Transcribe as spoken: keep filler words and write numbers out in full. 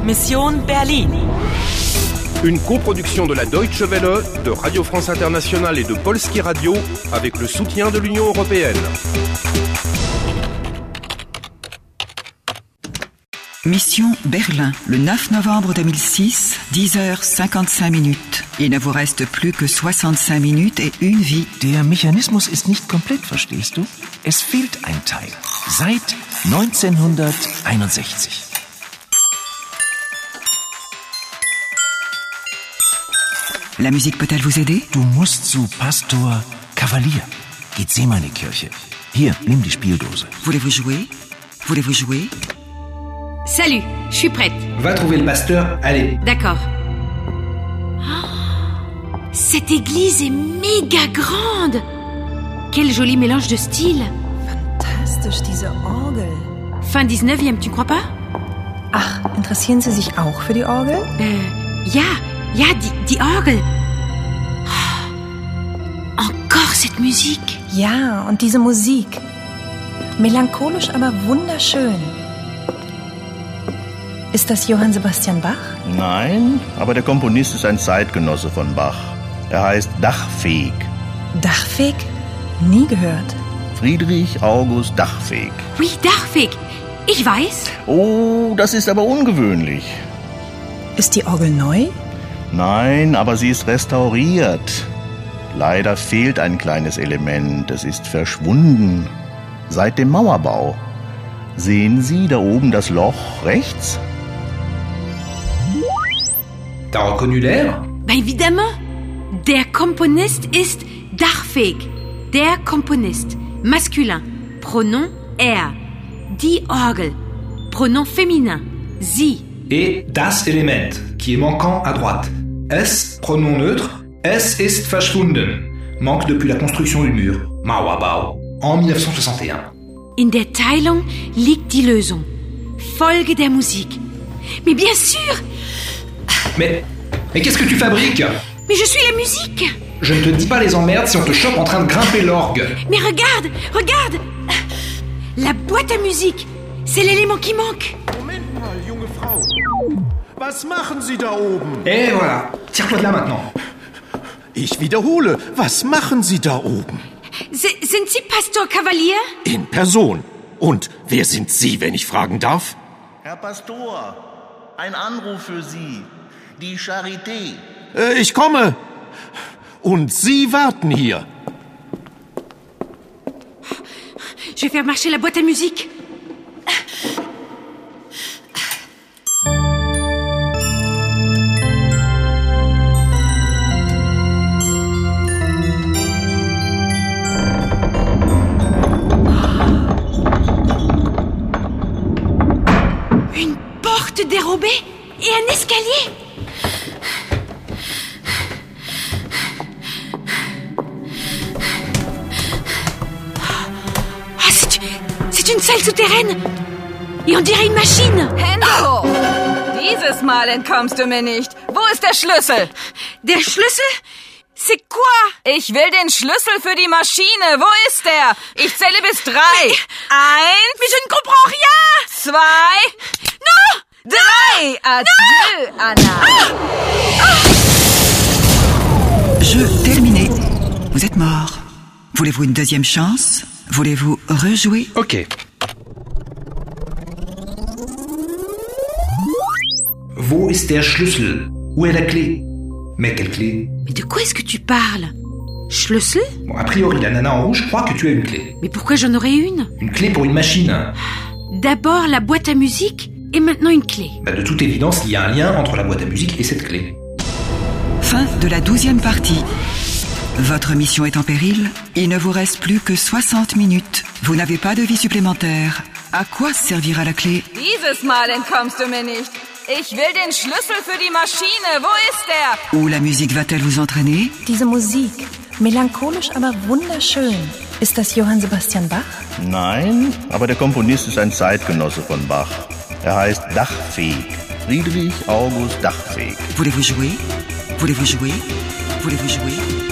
Mission Berlin. Une coproduction de la Deutsche Welle, de Radio France Internationale et de Polski Radio avec le soutien de l'Union européenne. Mission Berlin, le neuf novembre deux mille six, dix heures cinquante-cinq minutes. Il ne vous reste plus que soixante-cinq minutes et une vie. Der Mechanismus ist nicht komplett, verstehst du? Es fehlt ein Teil. Seit neunzehnhunderteinundsechzig. La musique peut-elle vous aider? Du musst zu Pastor Kavalier. Gethsemane-Kirche. Hier, nimm die Spieldose. Voulez-vous jouer? Voulez-vous jouer? Salut, je suis prête. Va trouver le pasteur, allez. D'accord. Oh, cette église est méga grande. Quel joli mélange de styles. Fantastisch, diese Orgel. Fin dix-neuvième, tu ne crois pas? Ach, interessieren Sie sich auch für die Orgel? Äh, ja, ja, die, die Orgel. Oh, encore cette musique. Ja, und diese Musik. Melancholisch, aber wunderschön. Ist das Johann Sebastian Bach? Nein, aber der Komponist ist ein Zeitgenosse von Bach. Er heißt Dachfeg. Dachfeg? Nie gehört. Friedrich August Dachfeg. Oui, Dachfeg. Ich weiß. Oh, das ist aber ungewöhnlich. Ist die Orgel neu? Nein, aber sie ist restauriert. Leider fehlt ein kleines Element. Es ist verschwunden. Seit dem Mauerbau. Sehen Sie da oben das Loch rechts? T'as reconnu l'air? Bah évidemment. Der Komponist ist Dachfeg. Der Komponist. Masculin. Pronom er. Die Orgel. Pronom féminin. Sie. Et das Element, qui est manquant à droite. Es, pronom neutre. Es ist verschwunden. Manque depuis la construction du mur. Mauerbau. En dix-neuf cent soixante et un. In der Teilung liegt die Lösung. Folge der Musik. Mais bien sûr! Mais, mais qu'est-ce que tu fabriques? Mais je suis la musique! Je ne te dis pas les emmerdes si on te chope en train de grimper l'orgue. Mais regarde, regarde! La boîte à musique, c'est l'élément qui manque. Moment mal, junge Frau. Was machen Sie da oben? Et voilà, tire-toi de là maintenant. Ich wiederhole, was machen Sie da oben? Sind Sie Pastor Kavalier? In Person. Und wer sind Sie, wenn ich fragen darf? Herr Pastor, ein Anruf für Sie. Die Charité. Äh, ich komme. Und Sie warten hier. Je vais faire marcher la boîte à musique. Dérobée et un escalier. Ah, c'est, c'est une salle souterraine. Et on dirait une machine. Hände! Dieses Mal entkommst du mir nicht. Wo ist der Schlüssel? Der Schlüssel? C'est quoi? Ich will den Schlüssel für die Maschine. Wo ist der? Ich zähle bis drei. Eins. Mais je ne comprends rien. Zwei. Non! Drei! Adieu, Anna! Jeu terminé. Vous êtes mort. Voulez-vous une deuxième chance? Voulez-vous rejouer? Ok. Wo ist der Schlüssel? Où est la clé? Mais quelle clé? Mais de quoi est-ce que tu parles? Schlüssel? Bon, a priori, la nana en rouge croit que tu as une clé. Mais pourquoi j'en aurais une? Une clé pour une machine. D'abord la boîte à musique et maintenant une clé. Bah, de toute évidence, il y a un lien entre la boîte à musique et cette clé. Fin de la douzième partie. Votre mission est en péril. Il ne vous reste plus que soixante minutes. Vous n'avez pas de vie supplémentaire. À quoi servira la clé? Dieses Mal entkommst du mir nicht. Ich will den Schlüssel für die Maschine. Wo ist der? Où la musique va-t-elle vous entraîner? Diese Musik. Melancholisch, aber wunderschön. Ist das Johann Sebastian Bach? Nein, aber der Komponist ist ein Zeitgenosse von Bach. Er heißt Dachfeg. Friedrich August Dachfeg. Voulez-vous jouer? Voulez-vous jouer? Voulez-vous jouer?